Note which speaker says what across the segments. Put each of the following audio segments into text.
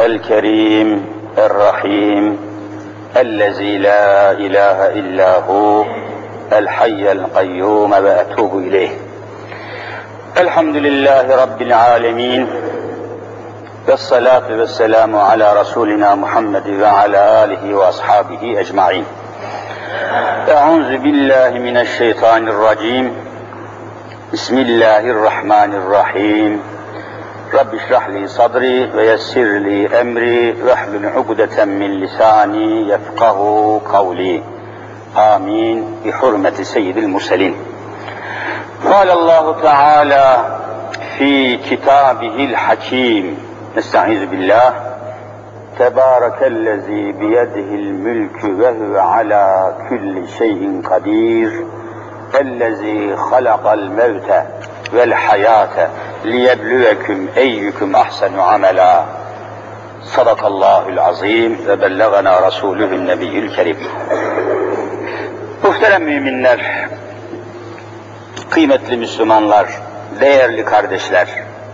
Speaker 1: الكريم الرحيم الذي لا إله إلا هو الحي القيوم وأتوب إليه. الحمد لله رب العالمين والصلاة والسلام على رسولنا محمد وعلى آله وأصحابه أجمعين. أعوذ بالله من الشيطان الرجيم. بسم الله الرحمن الرحيم. رب اشرح لي صدري ويسر لي أمري واحلل عقدة من لساني يفقه قولي. آمين بحرمة سيد المرسلين. قال الله تعالى في كتابه الحكيم: نستعيذ بالله. تبارك الذي بيده الملك وهو على كل شيء قدير الذي خلق الموت والحياة ليبلوكم أيكم أحسن عملا. صدق الله العظيم ve bellagana Resulühün Nebiyyül Kerim. Muhterem müminler, kıymetli Müslümanlar, değerli kardeşler,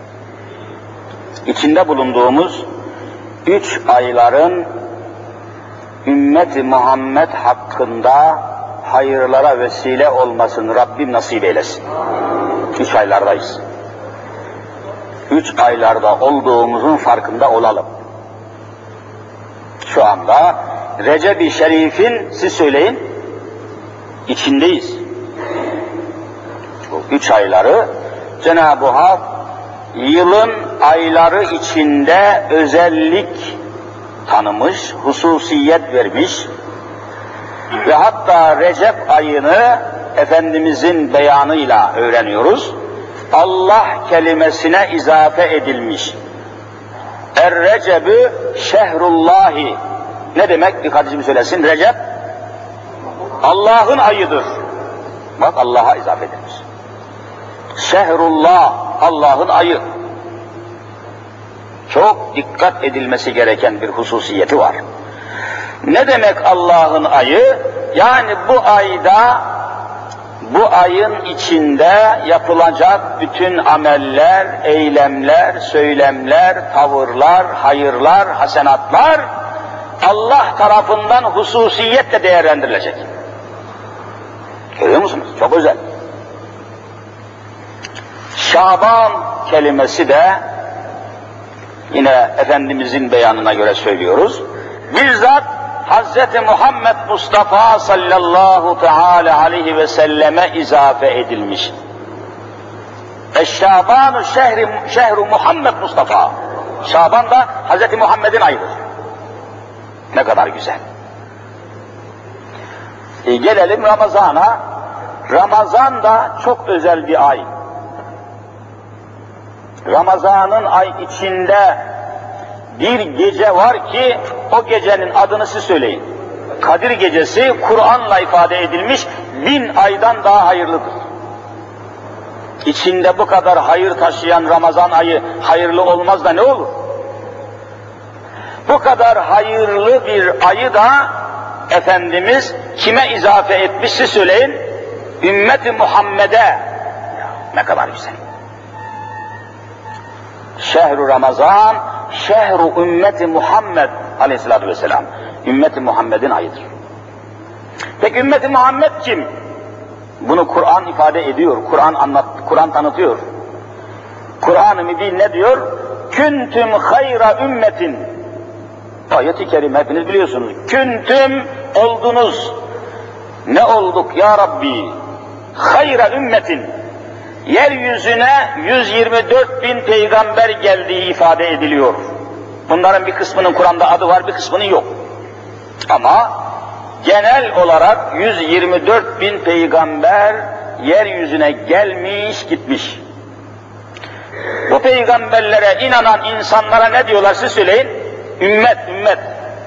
Speaker 1: içinde bulunduğumuz 3 ayların ümmeti Muhammed hakkında hayırlara vesile olmasını Rabbim nasip eylesin. 3 aylardayız. 3 aylarda olduğumuzun farkında olalım. Şu anda Recep-i Şerif'in, siz söyleyin, içindeyiz. Bu 3 ayları Cenab-ı Hak yılın ayları içinde özellik tanımış, hususiyet vermiş ve hatta Recep ayını Efendimizin beyanıyla öğreniyoruz. Allah kelimesine izafe edilmiş. Er-Recep'ü şehrullahi. Ne demek? Bir kardeşim söylesin. Recep Allah'ın ayıdır. Bak, Allah'a izafe edilmiş. Şehrullah, Allah'ın ayı. Çok dikkat edilmesi gereken bir hususiyeti var. Ne demek Allah'ın ayı? Yani bu ayda, bu ayın içinde yapılacak bütün ameller, eylemler, söylemler, tavırlar, hayırlar, hasenatlar Allah tarafından hususiyetle değerlendirilecek. Görüyor musunuz? Çok özel. Şaban kelimesi de yine Efendimizin beyanına göre söylüyoruz. Bizzat Hz. Muhammed Mustafa sallallahu teala aleyhi ve selleme izafe edilmiş. Eşşabanu şehru Muhammed Mustafa. Şaban da Hz. Muhammed'in ayıdır. Ne kadar güzel. Gelelim Ramazan'a. Ramazan da çok özel bir ay. Ramazan'ın ay içinde bir gece var ki o gecenin adını siz söyleyin. Kadir Gecesi, Kur'an'la ifade edilmiş, 1000 aydan daha hayırlıdır. İçinde bu kadar hayır taşıyan Ramazan ayı hayırlı olmaz da ne olur? Bu kadar hayırlı bir ayı da Efendimiz kime izafe etmiş siz söyleyin? Ümmeti Muhammed'e. Ne kadar güzel. Şehru Ramazan, şehru ümmeti Muhammed aleyhissalatü vesselam. Ümmeti Muhammed'in ayıdır. Peki ümmeti Muhammed kim? Bunu Kur'an ifade ediyor, Kur'an tanıtıyor. Kur'an-ı Mübin ne diyor? Küntüm hayra ümmetin. Ayet-i kerime hepiniz biliyorsunuz. Küntüm oldunuz. Ne olduk ya Rabbi? Hayra ümmetin. Yeryüzüne 124.000 peygamber geldiği ifade ediliyor. Bunların bir kısmının Kur'an'da adı var, bir kısmının yok. Ama genel olarak 124.000 peygamber yeryüzüne gelmiş gitmiş. Bu peygamberlere inanan insanlara ne diyorlar siz söyleyin? Ümmet, ümmet.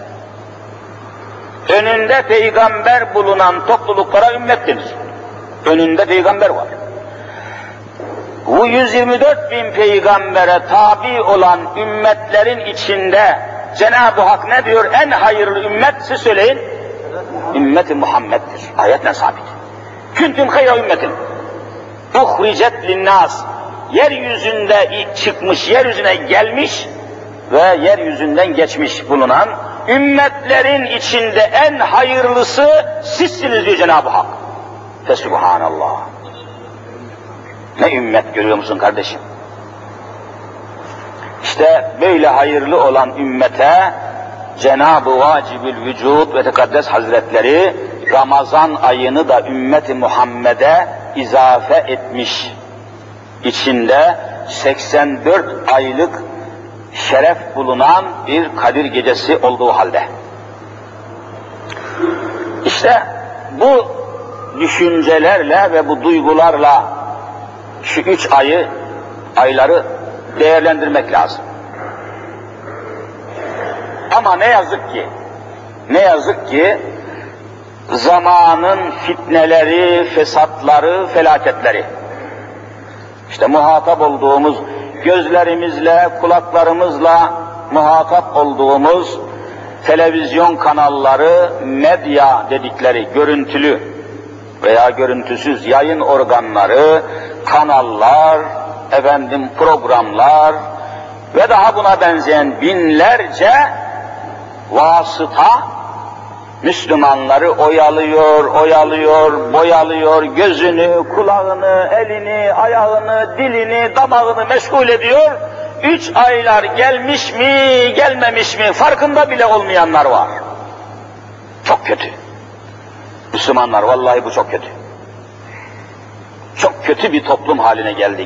Speaker 1: Önünde peygamber bulunan topluluklara ümmet denir. Önünde peygamber var. Bu 124.000 peygambere tabi olan ümmetlerin içinde Cenab-ı Hak ne diyor? En hayırlı ümmet siz söyleyin. Ümmeti Muhammed'dir. Ayetle sabit. Küntüm hayra ümmetin. Uhricet linnas. Yeryüzünde çıkmış, yeryüzüne gelmiş ve yeryüzünden geçmiş bulunan ümmetlerin içinde en hayırlısı sizsiniz diyor Cenab-ı Hak. Fesubhanallah. Ne ümmet görüyor musun kardeşim? İşte böyle hayırlı olan ümmete Cenab-ı Vacibül Vücud ve Tekaddes Hazretleri Ramazan ayını da ümmeti Muhammed'e izafe etmiş. İçinde 84 aylık şeref bulunan bir Kadir Gecesi olduğu halde. İşte bu düşüncelerle ve bu duygularla şu 3 ayları değerlendirmek lazım. Ama ne yazık ki zamanın fitneleri, fesatları, felaketleri, işte muhatap olduğumuz, gözlerimizle, kulaklarımızla muhatap olduğumuz televizyon kanalları, medya dedikleri görüntülü veya görüntüsüz yayın organları, kanallar, programlar ve daha buna benzeyen binlerce vasıta Müslümanları oyalıyor, boyalıyor, gözünü, kulağını, elini, ayağını, dilini, damağını meşgul ediyor. 3 aylar gelmiş mi, gelmemiş mi farkında bile olmayanlar var. Çok kötü. Müslümanlar, vallahi bu çok kötü. Çok kötü bir toplum haline geldik.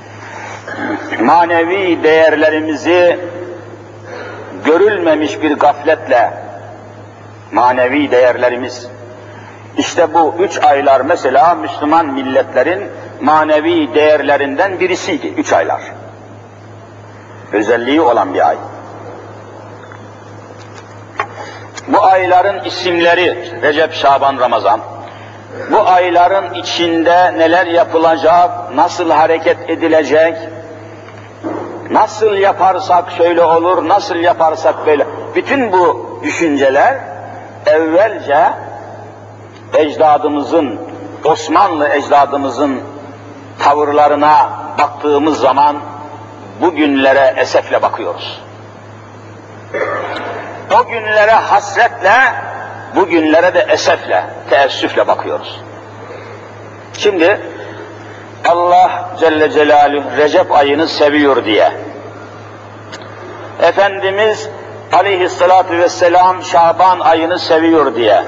Speaker 1: Manevi değerlerimizi görülmemiş bir gafletle, manevi değerlerimiz, işte bu 3 aylar mesela Müslüman milletlerin manevi değerlerinden birisiydi 3 aylar. Özelliği olan bir ay. Bu ayların isimleri Recep, Şaban, Ramazan. Bu ayların içinde neler yapılacak, nasıl hareket edilecek, nasıl yaparsak şöyle olur, nasıl yaparsak böyle. Bütün bu düşünceler evvelce ecdadımızın, Osmanlı ecdadımızın tavırlarına baktığımız zaman bugünlere esefle bakıyoruz. O günlere hasretle, bugünlere de esefle, teessüfle bakıyoruz. Şimdi Allah Celle Celaluhu Recep ayını seviyor diye, Efendimiz Aleyhisselatü Vesselam Şaban ayını seviyor diye,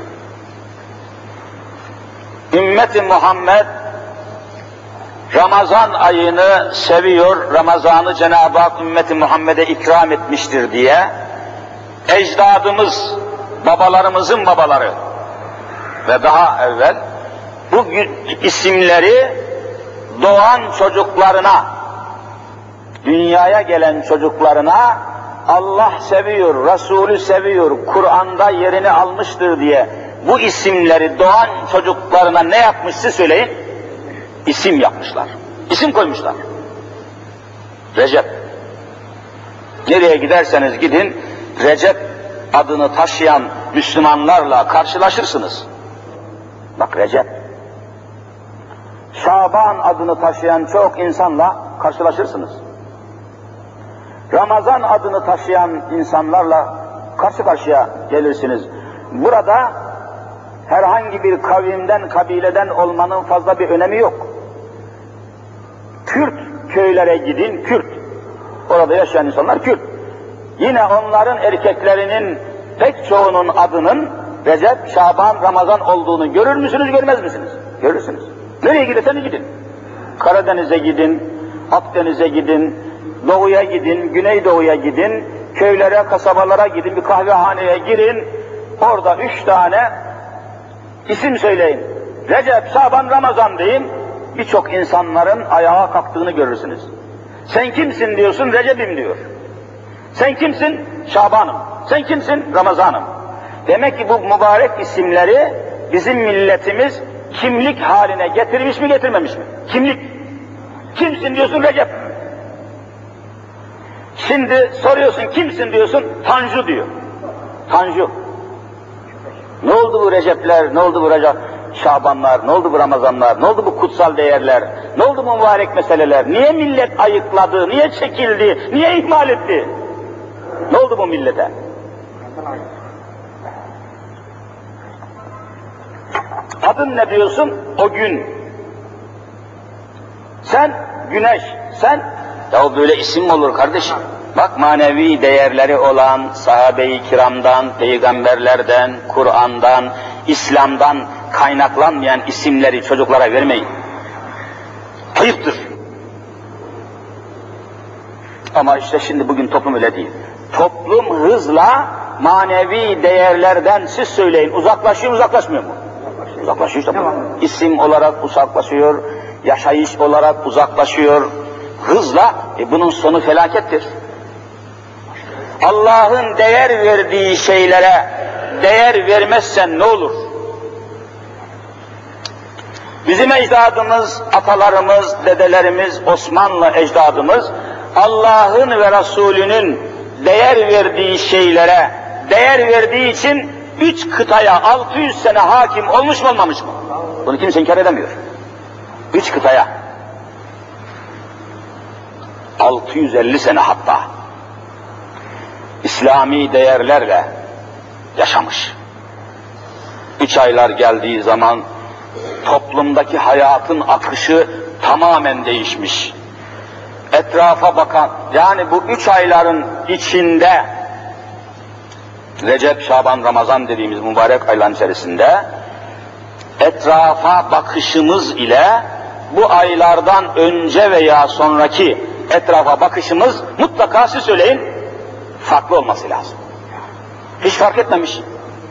Speaker 1: Ümmet-i Muhammed Ramazan ayını seviyor, Ramazan'ı Cenab-ı Hak Ümmet-i Muhammed'e ikram etmiştir diye, ecdadımız, babalarımızın babaları ve daha evvel bu isimleri doğan çocuklarına, dünyaya gelen çocuklarına Allah seviyor, Resulü seviyor, Kur'an'da yerini almıştır diye bu isimleri doğan çocuklarına ne yapmışsa söyleyin? İsim yapmışlar. İsim koymuşlar. Recep. Nereye giderseniz gidin, Recep adını taşıyan Müslümanlarla karşılaşırsınız. Bak Recep. Şaban adını taşıyan çok insanla karşılaşırsınız. Ramazan adını taşıyan insanlarla karşı karşıya gelirsiniz. Burada herhangi bir kavimden, kabileden olmanın fazla bir önemi yok. Kürt köylere gidin, Kürt. Orada yaşayan insanlar Kürt. Yine onların erkeklerinin pek çoğunun adının Recep, Şaban, Ramazan olduğunu görür müsünüz, görmez misiniz? Görürsünüz. Nereye giderseniz gidin. Karadeniz'e gidin, Akdeniz'e gidin, Doğu'ya gidin, Güneydoğu'ya gidin, köylere, kasabalara gidin, bir kahvehaneye girin, orada 3 tane isim söyleyin. Recep, Şaban, Ramazan deyin, birçok insanların ayağa kalktığını görürsünüz. Sen kimsin diyorsun, Recep'im diyor. Sen kimsin? Şaban'ım. Sen kimsin? Ramazan'ım. Demek ki bu mübarek isimleri bizim milletimiz kimlik haline getirmiş mi, getirmemiş mi? Kimlik. Kimsin diyorsun, Recep. Şimdi soruyorsun, kimsin diyorsun, Tanju diyor. Tanju. Ne oldu bu Recepler, ne oldu bu Şabanlar, ne oldu bu Ramazanlar, ne oldu bu kutsal değerler, ne oldu bu mübarek meseleler, niye millet ayıkladı, niye çekildi, niye ihmal etti? Ne oldu bu millete? Adın ne diyorsun? O gün. Sen güneş, sen... Ya böyle isim mi olur kardeşim? Bak manevi değerleri olan sahabe-i kiramdan, peygamberlerden, Kur'an'dan, İslam'dan kaynaklanmayan isimleri çocuklara vermeyin. Ayıptır. Ama işte şimdi bugün toplum öyle değil. Toplum hızla manevi değerlerden siz söyleyin. Uzaklaşıyor mu, uzaklaşmıyor mu? Uzaklaşıyor işte. İsim olarak uzaklaşıyor, yaşayış olarak uzaklaşıyor. Hızla, bunun sonu felakettir. Allah'ın değer verdiği şeylere değer vermezsen ne olur? Bizim ecdadımız, atalarımız, dedelerimiz, Osmanlı ecdadımız, Allah'ın ve Resulünün değer verdiği şeylere değer verdiği için 3 kıtaya 600 sene hakim olmuş mu olmamış mı? Bunu kimse inkar edemiyor. 3 kıtaya 650 sene hatta İslami değerlerle yaşamış. 3 aylar geldiği zaman toplumdaki hayatın akışı tamamen değişmiş. Etrafa bakan, yani bu 3 ayların içinde Recep, Şaban, Ramazan dediğimiz mübarek ayların içerisinde etrafa bakışımız ile bu aylardan önce veya sonraki etrafa bakışımız mutlaka siz söyleyin farklı olması lazım. Hiç fark etmemiş.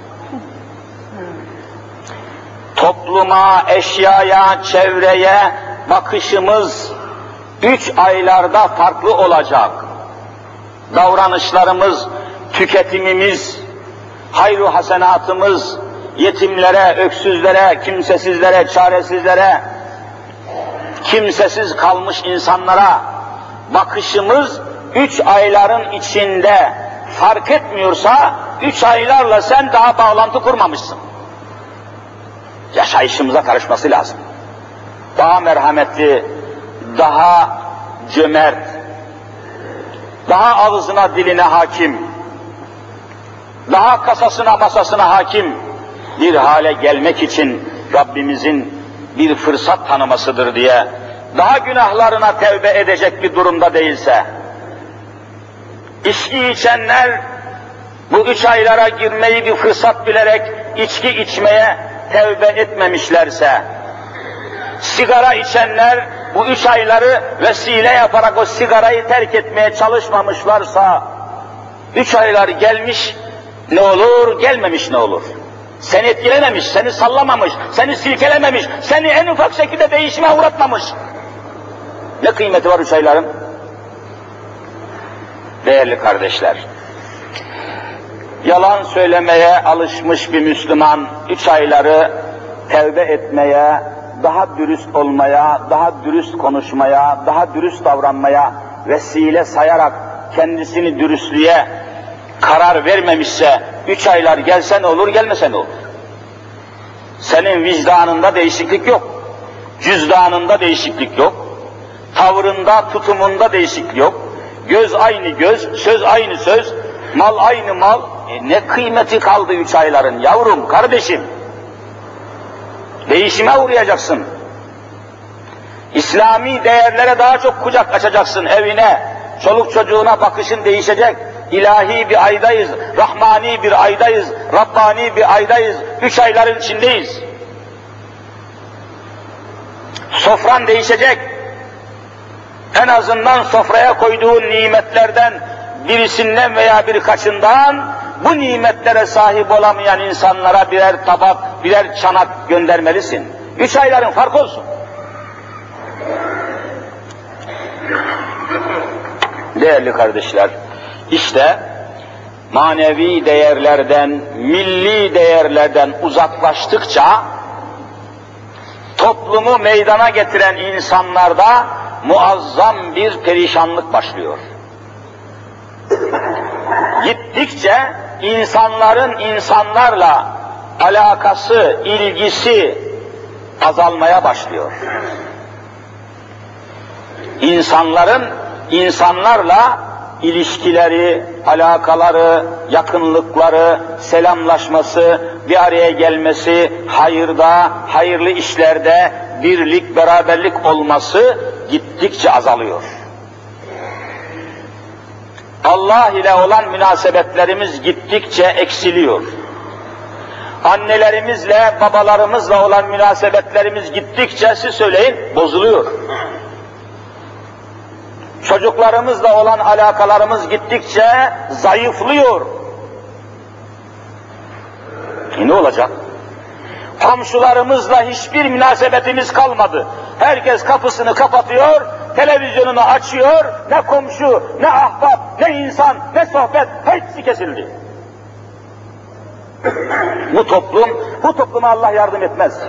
Speaker 1: Topluma, eşyaya, çevreye bakışımız 3 aylarda farklı olacak. Davranışlarımız, tüketimimiz, hayru hasenatımız, yetimlere, öksüzlere, kimsesizlere, çaresizlere, kimsesiz kalmış insanlara bakışımız 3 ayların içinde fark etmiyorsa 3 aylarla sen daha bağlantı kurmamışsın. Yaşayışımıza karışması lazım. Daha merhametli, daha cömert, daha ağzına diline hakim, daha kasasına masasına hakim bir hale gelmek için Rabbimizin bir fırsat tanımasıdır diye, daha günahlarına tevbe edecek bir durumda değilse, içki içenler bu 3 aylara girmeyi bir fırsat bilerek içki içmeye tevbe etmemişlerse, sigara içenler bu 3 ayları vesile yaparak o sigarayı terk etmeye çalışmamışlarsa, 3 aylar gelmiş ne olur, gelmemiş ne olur? Seni etkilememiş, seni sallamamış, seni silkelememiş, seni en ufak şekilde değişime uğratmamış. Ne kıymeti var 3 ayların? Değerli kardeşler, yalan söylemeye alışmış bir Müslüman 3 ayları tevbe etmeye, daha dürüst olmaya, daha dürüst konuşmaya, daha dürüst davranmaya vesile sayarak kendisini dürüstlüğe karar vermemişse 3 aylar gelse ne olur, gelmese ne olur? Senin vicdanında değişiklik yok, cüzdanında değişiklik yok, tavrında, tutumunda değişiklik yok, göz aynı göz, söz aynı söz, mal aynı mal. Ne kıymeti kaldı 3 ayların yavrum, kardeşim? Değişime uğrayacaksın. İslami değerlere daha çok kucak açacaksın evine, çoluk çocuğuna bakışın değişecek. İlahi bir aydayız, rahmani bir aydayız, Rabbani bir aydayız, 3 ayların içindeyiz. Sofran değişecek. En azından sofraya koyduğun nimetlerden birisinden veya birkaçından bu nimetlere sahip olamayan insanlara birer tabak, birer çanak göndermelisin. 3 ayların fark olsun. Değerli kardeşler, işte manevi değerlerden, milli değerlerden uzaklaştıkça toplumu meydana getiren insanlarda muazzam bir perişanlık başlıyor. Gittikçe insanların insanlarla alakası, ilgisi azalmaya başlıyor. İnsanların insanlarla ilişkileri, alakaları, yakınlıkları, selamlaşması, bir araya gelmesi, hayırda, hayırlı işlerde birlik, beraberlik olması gittikçe azalıyor. Allah ile olan münasebetlerimiz gittikçe eksiliyor. Annelerimizle, babalarımızla olan münasebetlerimiz gittikçe, siz söyleyin, bozuluyor. Çocuklarımızla olan alakalarımız gittikçe zayıflıyor. Ne olacak? Komşularımızla hiçbir münasebetimiz kalmadı. Herkes kapısını kapatıyor, televizyonunu açıyor, ne komşu, ne ahbap, ne insan, ne sohbet, hepsi kesildi. Bu topluma Allah yardım etmez.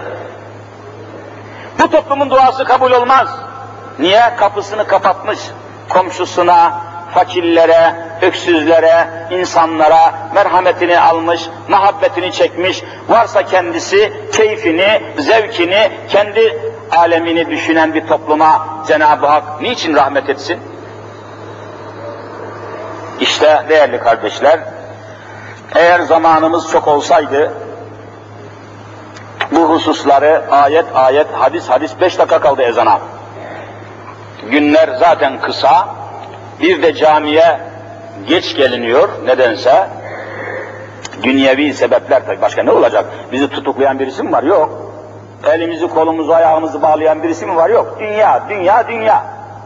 Speaker 1: Bu toplumun duası kabul olmaz. Niye? Kapısını kapatmış, komşusuna, fakirlere, öksüzlere, insanlara merhametini almış, muhabbetini çekmiş, varsa kendisi keyfini, zevkini, kendi alemini düşünen bir topluma Cenab-ı Hak niçin rahmet etsin? İşte değerli kardeşler, eğer zamanımız çok olsaydı, bu hususları ayet ayet, hadis hadis, 5 dakika kaldı ezana. Günler zaten kısa, bir de camiye geç geliniyor nedense. Dünyevi sebepler tabii, başka ne olacak? Bizi tutuklayan birisi mi var? Yok. Elimizi, kolumuzu, ayağımızı bağlayan birisi mi var? Yok. Dünya, dünya, dünya.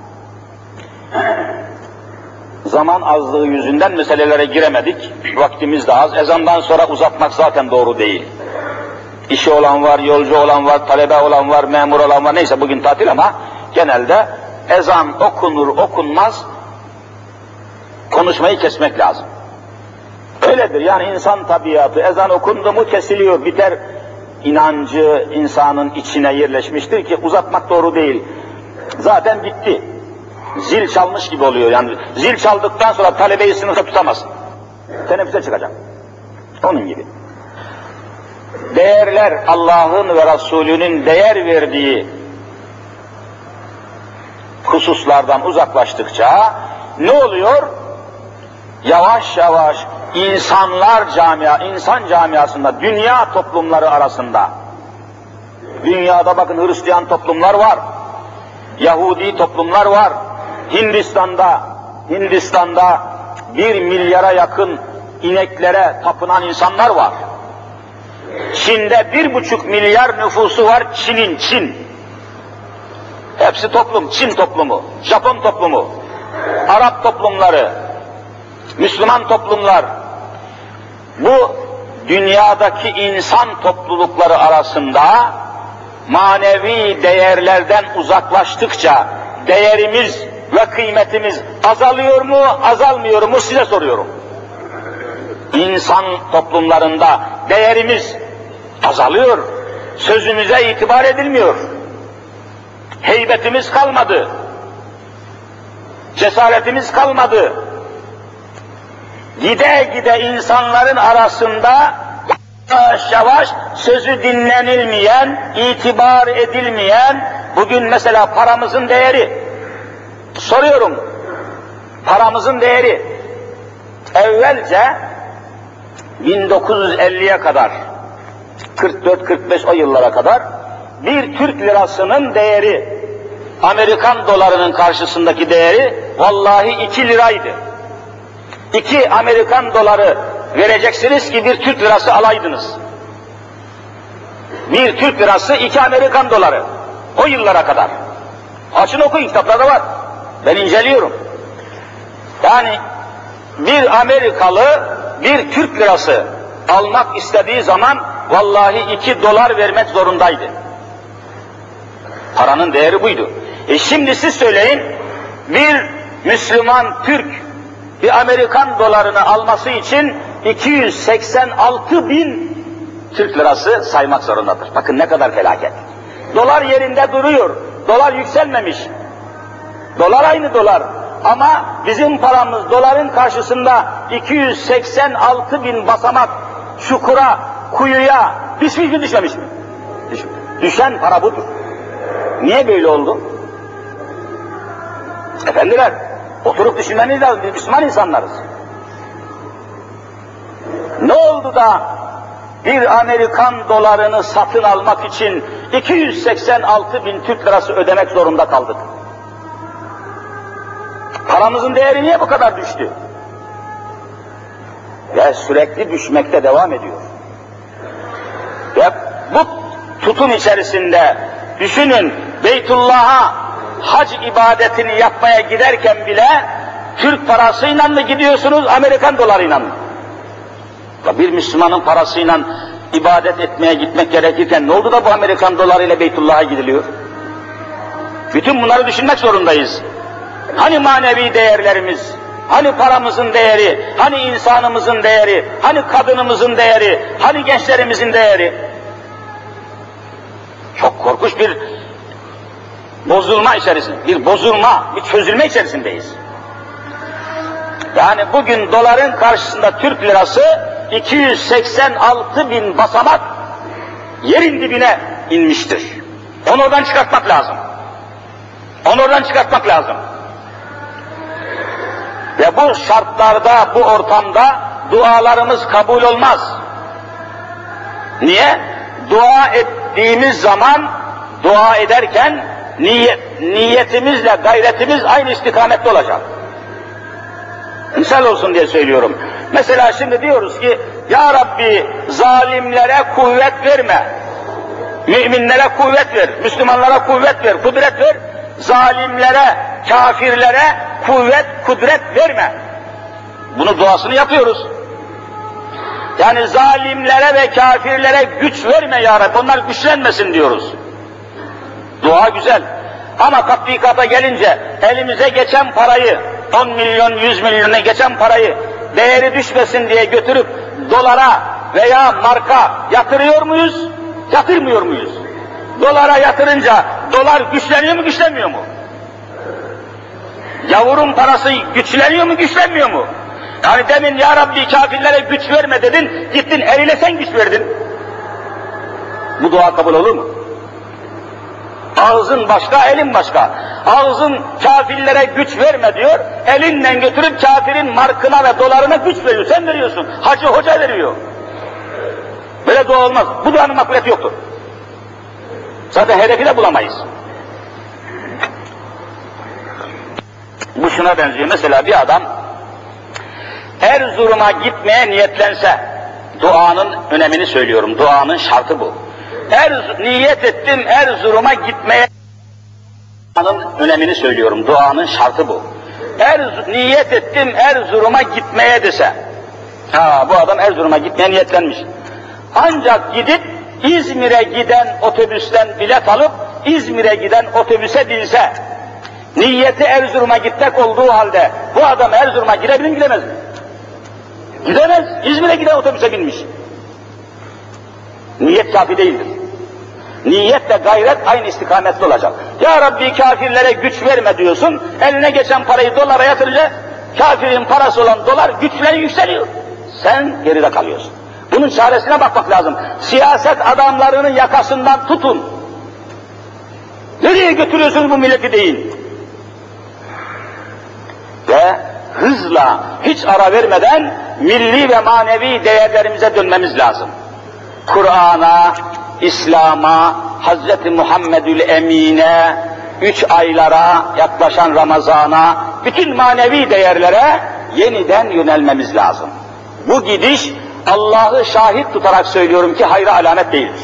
Speaker 1: Zaman azlığı yüzünden meselelere giremedik. Vaktimiz de az. Ezandan sonra uzatmak zaten doğru değil. İşi olan var, yolcu olan var, talebe olan var, memur olan var. Neyse bugün tatil ama genelde ezan okunur okunmaz konuşmayı kesmek lazım. Öyledir yani, insan tabiatı, ezan okundu mu kesiliyor, biter. İnancı insanın içine yerleşmiştir ki uzatmak doğru değil. Zaten bitti. Zil çalmış gibi oluyor yani. Zil çaldıktan sonra talebeyi sınıfta tutamazsın. Teneffüse çıkacak. Onun gibi. Değerler, Allah'ın ve Resulünün değer verdiği hususlardan uzaklaştıkça ne oluyor? Yavaş yavaş insan camiasında, dünya toplumları arasında, dünyada bakın Hristiyan toplumlar var, Yahudi toplumlar var, Hindistan'da 1 milyara yakın ineklere tapınan insanlar var. Çin'de 1,5 milyar nüfusu var, Çin. Hepsi toplum, Çin toplumu, Japon toplumu, Arap toplumları, Müslüman toplumlar. Bu dünyadaki insan toplulukları arasında manevi değerlerden uzaklaştıkça değerimiz ve kıymetimiz azalıyor mu, azalmıyor mu size soruyorum. İnsan toplumlarında değerimiz azalıyor, sözümüze itibar edilmiyor, heybetimiz kalmadı, cesaretimiz kalmadı. Gide gide insanların arasında yavaş yavaş sözü dinlenilmeyen, itibar edilmeyen, bugün mesela paramızın değeri, soruyorum, paramızın değeri, evvelce 1950'ye kadar, 44-45 o yıllara kadar, bir Türk lirasının değeri, Amerikan dolarının karşısındaki değeri, vallahi 2 liraydı. 2 Amerikan doları vereceksiniz ki bir Türk lirası alaydınız. Bir Türk lirası 2 Amerikan doları. O yıllara kadar. Açın okuyun, kitaplarda var. Ben inceliyorum. Yani bir Amerikalı bir Türk lirası almak istediği zaman vallahi 2 dolar vermek zorundaydı. Paranın değeri buydu. Şimdi siz söyleyin, bir Müslüman Türk bir Amerikan dolarını alması için 286.000 Türk lirası saymak zorundadır. Bakın ne kadar felaket. Dolar yerinde duruyor. Dolar yükselmemiş. Dolar aynı dolar. Ama bizim paramız doların karşısında 286.000 basamak çukura, kuyuya düşmüş mü düşmemiş mi? Düşen para budur. Niye böyle oldu? Efendiler, Oturup düşünmeniz lazım, biz Müslüman insanlarız. Ne oldu da bir Amerikan dolarını satın almak için 286.000 Türk lirası ödemek zorunda kaldık? Paramızın değeri niye bu kadar düştü? Ve sürekli düşmekte devam ediyor. Ve bu tutum içerisinde düşünün, Beytullah'a hac ibadetini yapmaya giderken bile Türk parasıyla mı gidiyorsunuz, Amerikan dolarıyla mı? Bir Müslümanın parasıyla ibadet etmeye gitmek gerekirken ne oldu da bu Amerikan dolarıyla Beytullah'a gidiliyor? Bütün bunları düşünmek zorundayız. Hani manevi değerlerimiz, hani paramızın değeri, hani insanımızın değeri, hani kadınımızın değeri, hani gençlerimizin değeri? Çok korkunç bir bozulma içerisinde, bir çözülme içerisindeyiz. Yani bugün doların karşısında Türk lirası 286.000 basamak yerin dibine inmiştir. Onu oradan çıkartmak lazım. Onu oradan çıkartmak lazım. Ve bu şartlarda, bu ortamda dualarımız kabul olmaz. Niye? Dua ettiğimiz zaman, dua ederken niyetimizle gayretimiz aynı istikamette olacak. Misal olsun diye söylüyorum. Mesela şimdi diyoruz ki, Ya Rabbi zalimlere kuvvet verme, müminlere kuvvet ver, Müslümanlara kuvvet ver, kudret ver, zalimlere, kafirlere kuvvet, kudret verme. Bunu duasını yapıyoruz. Yani zalimlere ve kafirlere güç verme Ya Rabbi, onlar güçlenmesin diyoruz. Dua güzel. Ama tatbikata gelince elimize geçen parayı, 10 milyon, 100 milyona geçen parayı değeri düşmesin diye götürüp dolara veya marka yatırıyor muyuz? Yatırmıyor muyuz? Dolara yatırınca dolar güçleniyor mu, güçlenmiyor mu? Gavurun parası güçleniyor mu, güçlenmiyor mu? Yani demin Ya Rabbi kafirlere güç verme dedin, gittin eline sen güç verdin. Bu dua kabul olur mu? Ağzın başka, elin başka. Ağzın kafirlere güç verme diyor, elinle götürüp kafirin markına ve dolarına güç veriyor. Sen veriyorsun, hacı hoca veriyor. Böyle dua olmaz. Bu duanın makbuliyeti yoktur. Zaten hedefi de bulamayız. Bu şuna benziyor. Mesela bir adam Erzurum'a gitmeye niyetlense, duanın önemini söylüyorum, duanın şartı bu. Niyet ettim Erzurum'a gitmeye, duanın önemini söylüyorum, duanın şartı bu. Niyet ettim Erzurum'a gitmeye dese, bu adam Erzurum'a gitmeye niyetlenmiş. Ancak gidip İzmir'e giden otobüsten bilet alıp İzmir'e giden otobüse binse, niyeti Erzurum'a gitmek olduğu halde bu adam Erzurum'a girebilir mi, gidemez mi? Gidemez. İzmir'e giden otobüse binmiş. Niyet kafi değildir. Niyetle gayret aynı istikamette olacak. Ya Rabbi kafirlere güç verme diyorsun, eline geçen parayı dolara yatırınca kafirin parası olan dolar güçleniyor, yükseliyor. Sen geride kalıyorsun. Bunun çaresine bakmak lazım. Siyaset adamlarının yakasından tutun. Nereye götürüyorsunuz bu milleti deyin. Ve hızla, hiç ara vermeden milli ve manevi değerlerimize dönmemiz lazım. Kur'an'a, İslam'a, Hazreti Muhammedül Emin'e, 3 aylara, yaklaşan Ramazan'a, bütün manevi değerlere yeniden yönelmemiz lazım. Bu gidiş, Allah'ı şahit tutarak söylüyorum ki hayra alamet değildir.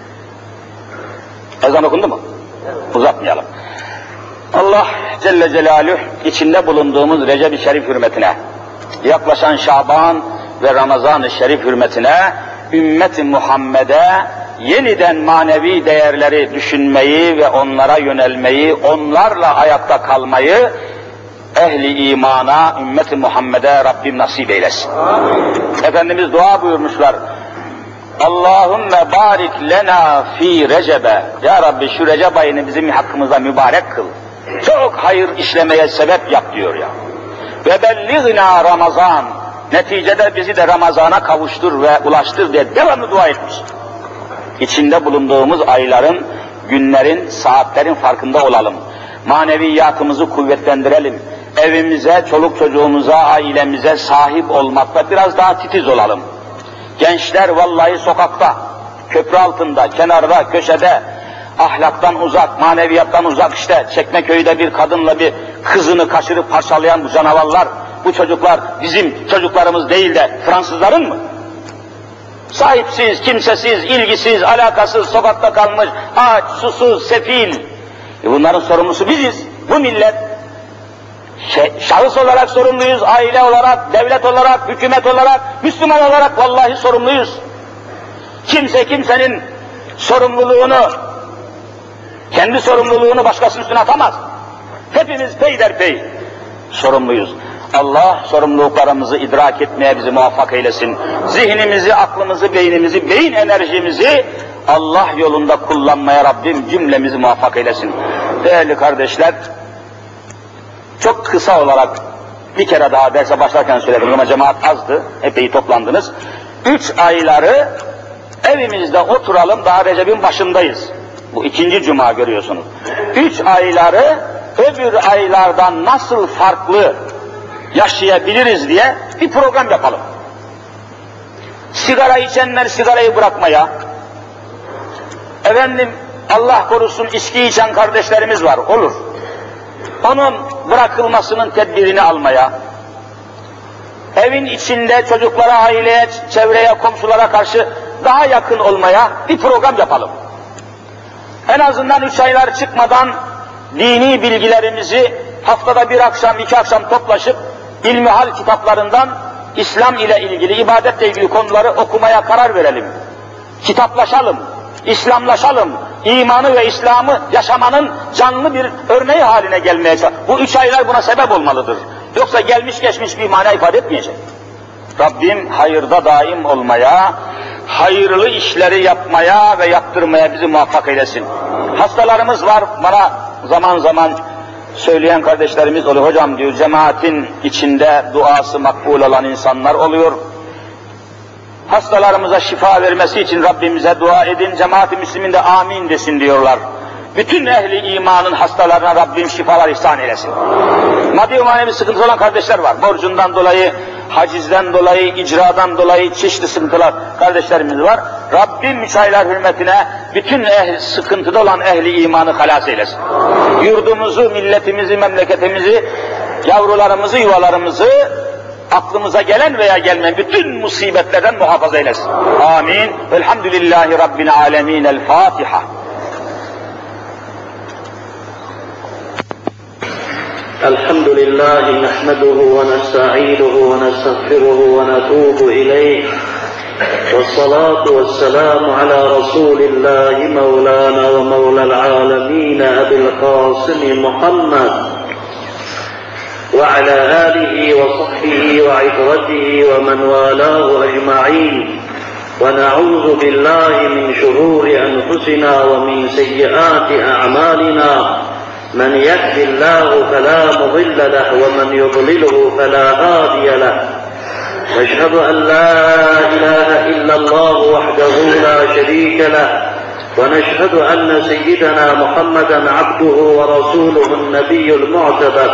Speaker 1: Ezan okundu mu? Uzatmayalım. Allah Celle Celaluhu içinde bulunduğumuz Recep-i Şerif hürmetine, yaklaşan Şaban ve Ramazan-ı Şerif hürmetine, ümmet-i Muhammed'e yeniden manevi değerleri düşünmeyi ve onlara yönelmeyi, onlarla ayakta kalmayı ehli imana, ümmet-i Muhammed'e Rabbim nasip eylesin. Amin. Efendimiz dua buyurmuşlar. Allahümme barik lena fi Recebe. Ya Rabbi şu Recep ayını bizim hakkımızda mübarek kıl. Çok hayır işlemeye sebep yap diyor ya. Ve belliğna Ramazan. Neticede bizi de Ramazan'a kavuştur ve ulaştır diye devamlı dua etmiş. İçinde bulunduğumuz ayların, günlerin, saatlerin farkında olalım. Maneviyatımızı kuvvetlendirelim. evimize, çoluk çocuğumuza, ailemize sahip olmakta biraz daha titiz olalım. Gençler vallahi sokakta, köprü altında, kenarda, köşede, ahlaktan uzak, maneviyattan uzak, işte Çekmeköy'de bir kadınla bir kızını kaçırıp parçalayan bu canavarlar, bu çocuklar bizim çocuklarımız değil de Fransızların mı? Sahipsiz, kimsesiz, ilgisiz, alakasız, sokakta kalmış, aç, susuz, sefil. Bunların sorumlusu biziz, bu millet. Şahıs olarak sorumluyuz, aile olarak, devlet olarak, hükümet olarak, Müslüman olarak vallahi sorumluyuz. Kimse kimsenin sorumluluğunu, kendi sorumluluğunu başkasının üstüne atamaz. Hepimiz peyderpey sorumluyuz. Allah sorumluluklarımızı idrak etmeye bizi muvaffak eylesin. Zihnimizi, aklımızı, beynimizi, beyin enerjimizi Allah yolunda kullanmaya Rabbim cümlemizi muvaffak eylesin. Değerli kardeşler, çok kısa olarak bir kere daha derse başlarken söyledim ama cemaat azdı, epey toplandınız. 3 ayları evimizde oturalım, daha Recep'in başındayız. Bu 2. cuma görüyorsunuz. 3 ayları öbür aylardan nasıl farklı yaşayabiliriz diye bir program yapalım. Sigara içenler sigarayı bırakmaya, efendim Allah korusun içki içen kardeşlerimiz var, olur. Onun bırakılmasının tedbirini almaya, evin içinde çocuklara, aileye, çevreye, komşulara karşı daha yakın olmaya bir program yapalım. En azından 3 aylar çıkmadan dini bilgilerimizi haftada 1 akşam, 2 akşam toplaşıp ilmihal kitaplarından İslam ile ilgili, ibadetle ilgili konuları okumaya karar verelim. Kitaplaşalım, İslamlaşalım, imanı ve İslam'ı yaşamanın canlı bir örneği haline gelmeye çalışalım. Bu 3 aylar buna sebep olmalıdır. Yoksa gelmiş geçmiş bir mana ifade etmeyecek. Rabbim hayırda daim olmaya, hayırlı işleri yapmaya ve yaptırmaya bizi muvaffak eylesin. Hastalarımız var, bana zaman zaman söyleyen kardeşlerimiz oluyor. Hocam diyor, cemaatin içinde duası makbul olan insanlar oluyor. Hastalarımıza şifa vermesi için Rabbimize dua edin, cemaat-i müslimin de amin desin diyorlar. Bütün ehli imanın hastalarına Rabbim şifalar ihsan eylesin. Maddi manevi sıkıntı olan kardeşler var. Borcundan dolayı, hacizden dolayı, icradan dolayı çeşitli sıkıntılar kardeşlerimiz var. Rabbim 3 aylar hürmetine bütün sıkıntıda olan ehli imanı halas eylesin. Yurdumuzu, milletimizi, memleketimizi, yavrularımızı, yuvalarımızı aklımıza gelen veya gelmeyen bütün musibetlerden muhafaza eylesin. Amin. Elhamdülillahi Rabbil alemin. El Fatiha.
Speaker 2: الحمد لله نحمده ونستعينه ونستغفره ونتوب إليه والصلاة والسلام على رسول الله مولانا ومولى العالمين أبي القاسم محمد وعلى آله وصحبه وعترته ومن والاه أجمعين ونعوذ بالله من شرور أنفسنا ومن سيئات أعمالنا من يهد الله فلا مضل له ومن يضلله فلا هادي له نشهد أن لا إله إلا الله وحده لا شريك له ونشهد أن سيدنا محمدا عبده ورسوله النبي المعتبر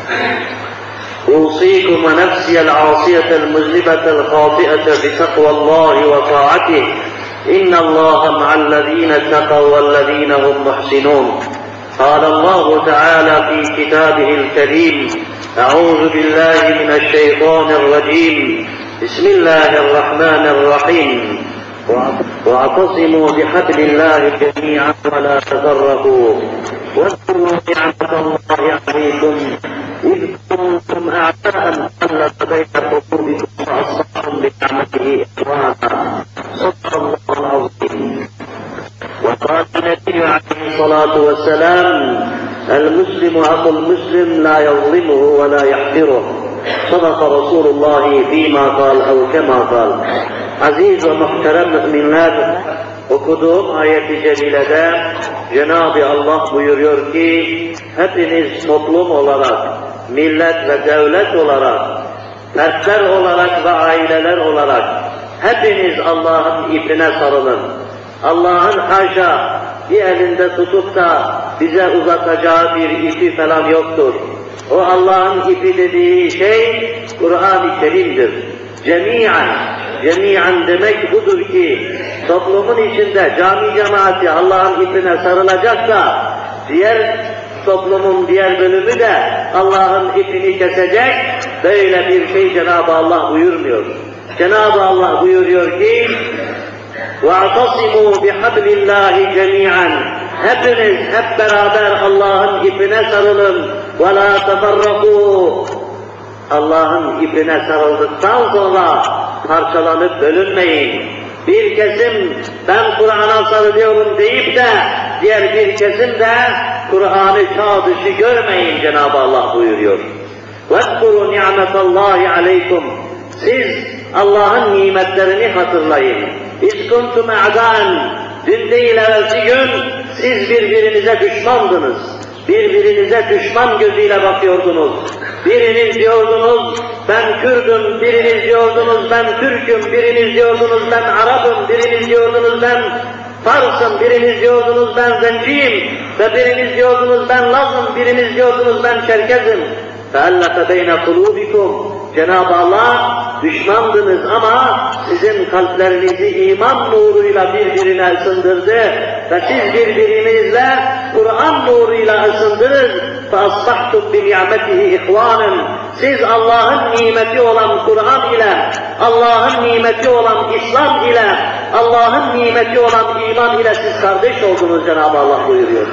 Speaker 2: أوصيكم ونفسي العاصية المذنبة الخاطئة بتقوى الله وطاعته إن الله مع الذين اتقوا والذين هم محسنون قال الله تعالى في كتابه الكريم أعوذ بالله من الشيطان الرجيم بسم الله الرحمن الرحيم واعتصموا بحبل الله جميعا ولا تفرقوا واذكروا نعمة الله عليكم إذ كنتم أعداء فألف بين قلوبكم فأصبحتم بنعمته إخوانا صدق الله العظيم. وقال النبي عليه الصلاة والسلام المسلم أخو المسلم لا يظلمه ولا يحقره صدق رسول الله فيما قال أو كما قال. Aziz ve muhterem müminler, okuduğum ayet-i celilede Cenab-ı Allah buyuruyor ki hepiniz toplum olarak, millet ve devlet olarak, fertler olarak ve aileler olarak hepiniz Allah'ın ipine sarılın. Allah'ın haşa bir elinde tutup da bize uzatacağı bir ipi falan yoktur. O Allah'ın ipi dediği şey Kur'an-ı Kerim'dir. Cemi'an demek budur ki toplumun içinde cami cemaati Allah'ın ipine sarılacaksa diğer toplumun diğer bölümü de Allah'ın ipini kesecek, böyle bir şey Cenab-ı Allah buyurmuyor. Cenab-ı Allah buyuruyor ki وَاَعْتَصِمُوا بِحَبْلِ اللّٰهِ جَمِيعًا Hepiniz hep beraber Allah'ın ipine sarılın. وَلَا تَفَرَّقُوا Allah'ın ipine sarıldıktan sonra parçalanıp bölünmeyin. Bir kesim ben Kur'an'a sarılıyorum deyip de diğer bir kesim de Kur'an'ı çağ dışı görmeyin Cenab-ı Allah buyuruyor. وَاذْكُرُوا نِعْمَةَ اللّٰهِ عَلَيْكُمْ Siz Allah'ın nimetlerini hatırlayın. اِذْ كُنْتُمْ اَعْدَانٍ Dün değil evvelsi gün siz birbirinize düşmandınız. Birbirinize düşman gözüyle bakıyordunuz. Biriniz diyordunuz ben Kürdüm, biriniz diyordunuz ben Türk'üm, biriniz diyordunuz ben Arap'ım, biriniz diyordunuz ben Fars'ım, biriniz diyordunuz ben Zenciyim ve biriniz diyordunuz ben Laz'ım, biriniz diyordunuz ben Çerkez'im. فَاَلَّفَ بَيْنَ قُلُوبِكُمْ Cenab-ı Allah düşmandınız ama sizin kalplerinizi iman nuruyla birbirine ısındırdı ve siz birbirinizle Kur'an nuruyla ısındınız. فَأَصْبَحْتُمْ بِنِعْمَتِهِ اِخْوَانًا Siz Allah'ın nimeti olan Kur'an ile, Allah'ın nimeti olan İslam ile, Allah'ın nimeti olan iman ile siz kardeş oldunuz Cenab-ı Allah buyuruyor.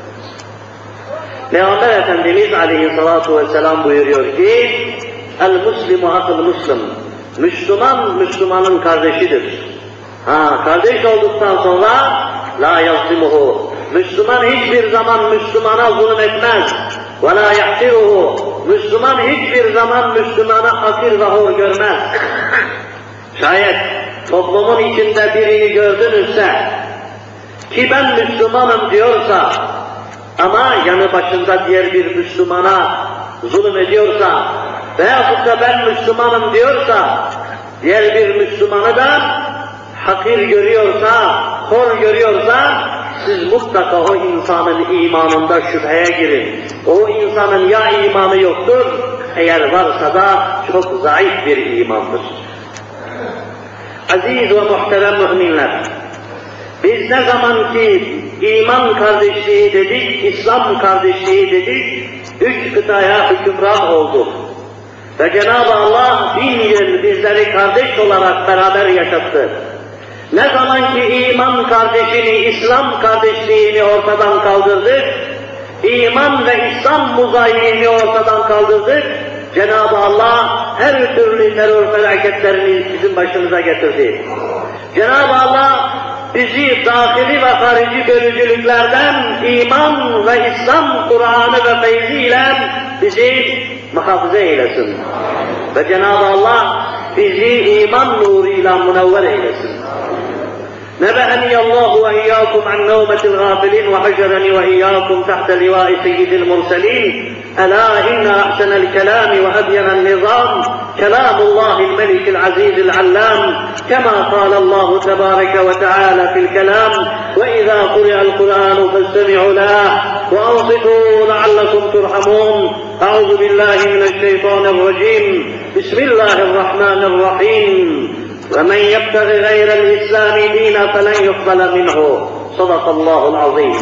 Speaker 2: Peygamber Efendimiz aleyhissalatu vesselam buyuruyor ki El-Müslimu akıl-Müslim Müslüman, Müslümanın kardeşidir. Kardeş olduktan sonra la yazlimuhu Müslüman hiçbir zaman Müslümana zulüm etmez. Ve la yahtiruhu Müslüman hiçbir zaman Müslümana hakir ve hor görmez. Şayet toplumun içinde birini gördünüzse ki ben Müslümanım diyorsa ama yanı başında diğer bir Müslümana zulüm ediyorsa veyahut da ben Müslümanım diyorsa diğer bir Müslümanı da hakir görüyorsa, hor görüyorsa siz mutlaka o insanın imanında şüpheye girin. O insanın ya imanı yoktur, eğer varsa da çok zayıf bir imandır. Aziz ve muhterem müminler, biz ne zaman ki iman kardeşliği dedik, İslam kardeşliği dedik, 3 kıtaya hükümran olduk. Ve Cenab-ı Allah 1000 yıl bizleri kardeş olarak beraber yaşattı. Ne zaman ki iman kardeşini, İslam kardeşliğini ortadan kaldırdık, iman ve İslam muzayini ortadan kaldırdık, Cenab-ı Allah her türlü terör felaketlerini bizim başımıza getirdi. Cenab-ı Allah bizi dahili ve harici bölücülüklerden iman ve İslam Kur'an'ı ve feyziyle bizi muhafaza eylesin. Ve Cenab-ı Allah bizi iman nuruyla münevver eylesin. نبأني الله وإياكم عن نومة الغافلين وحشرني وإياكم تحت لواء سيد المرسلين ألا إن أحسن الكلام وأبين النظام كلام الله الملك العزيز العلام كما قال الله تبارك وتعالى في الكلام وإذا قرئ القرآن فاستمعوا له وأنصتوا لعلكم ترحمون أعوذ بالله من الشيطان الرجيم بسم الله الرحمن الرحيم ومن يبتغ غير الإسلام دينا فلن يقبل منه صدق الله العظيم.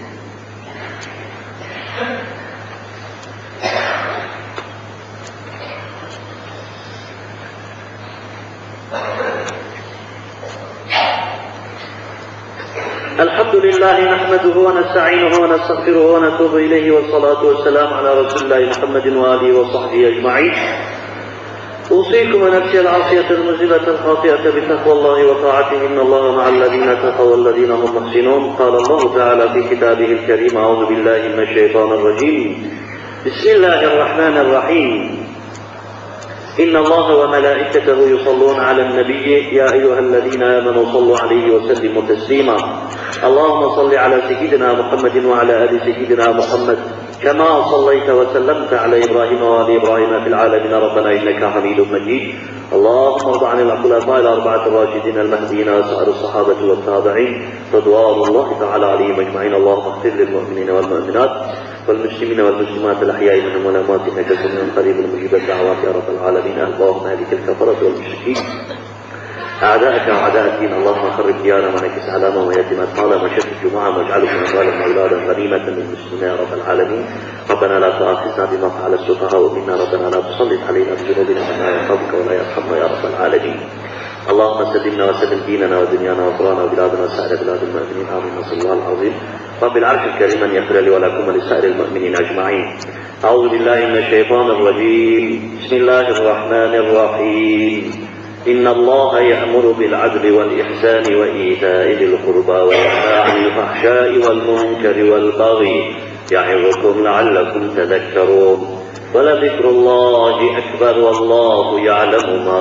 Speaker 2: الحمد لله نحمده ونستعينه ونستغفره ونتوب إليه والصلاة والسلام على رسول الله محمد وآله وصحبه أجمعين. أوصيكم ونفسي العاصية المذنبة الخاطئة بتقوى الله وطاعته إن الله مع الذين اتقوا والذين هم محسنون. قال الله تعالى في كتابه الكريم أعوذ بالله من الشيطان الرجيم بسم الله الرحمن الرحيم إن الله وملائكته يصلون على النبي يا أيها الذين آمنوا صلوا عليه وسلموا تسليما اللهم صل على سيدنا محمد وعلى آل سيدنا محمد كما صليت وسلمت على إبراهيم وآل إبراهيم في العالمين ربنا إنك حميد مجيد. اللهم ارض عن الخلفاء الأربعة الراشدين المهديين وسائر الصحابة والتابعين رضوان الله تعالى عليهم أجمعين. اللهم اغفر للمؤمنين والمؤمنات والمسلمين والمسلمات الأحياء منهم والأموات إنك سميع قريب مجيب الدعوات يا رب العالمين. اللهم اهلك الكفرة والمشركين أعداءك وأعداء الدين. اللهم خرب ديارنا ونكس علامة ويتم طالما شتت جمعهم واجعلهم أموالا أولادا غنيمة للمسلمين يا رب العالمين. ربنا لا تؤاخذنا بما فعل السفهاء منا. ربنا لا تسلط علينا بذنوبنا من لا يخافك ولا يرحمنا يا رب العالمين. اللهم سلمنا وسلم ديننا ودنيانا وقرانا وبلادنا وسائر بلاد المؤمنين آمين. صلى الله العظيم رب العرش الكريم أن يغفر لي ولكم ولسائر المؤمنين أجمعين. أعوذ بالله من الشيطان الرجيم. بسم الله الرحمن الرحيم. إن الله يأمر بالعدل والإحسان وإيتاء ذي القربى وينهى عن الفحشاء والمنكر والبغي يعظكم لعلكم تذكرون. ولذكر الله أكبر والله يعلم ما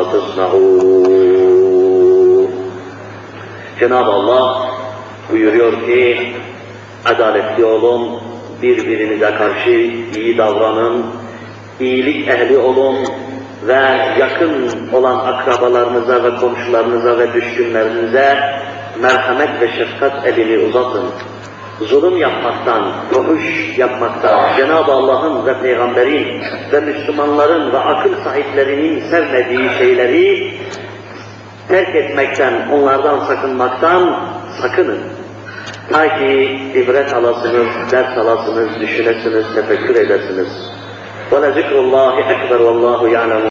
Speaker 2: تصنعون. Cenab-ı Allah buyuruyor ki, adaletli olun, birbirinize karşı iyi davranın, iyilik ehli olun ve yakın olan akrabalarınıza ve komşularınıza ve düşkünlerinize merhamet ve şefkat elini uzatın. Zulüm yapmaktan, fuhuş yapmaktan, Cenab-ı Allah'ın ve Peygamber'in ve Müslümanların ve akıl sahiplerinin sevmediği şeyleri terk etmekten, onlardan sakınmaktan sakının. Ta ki ibret alasınız, ders alasınız, düşünesiniz, tefekkür edesiniz. وَلَذِكْرُ اللّٰهِ اَكْبَرُ وَاللّٰهُ يَعْلَمُ